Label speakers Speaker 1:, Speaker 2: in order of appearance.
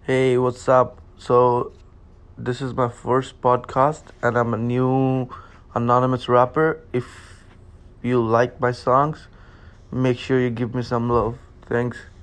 Speaker 1: Hey, what's up? This is my first podcast, and I'm a new anonymous rapper. If you like my songs, make sure you give me some love. Thanks.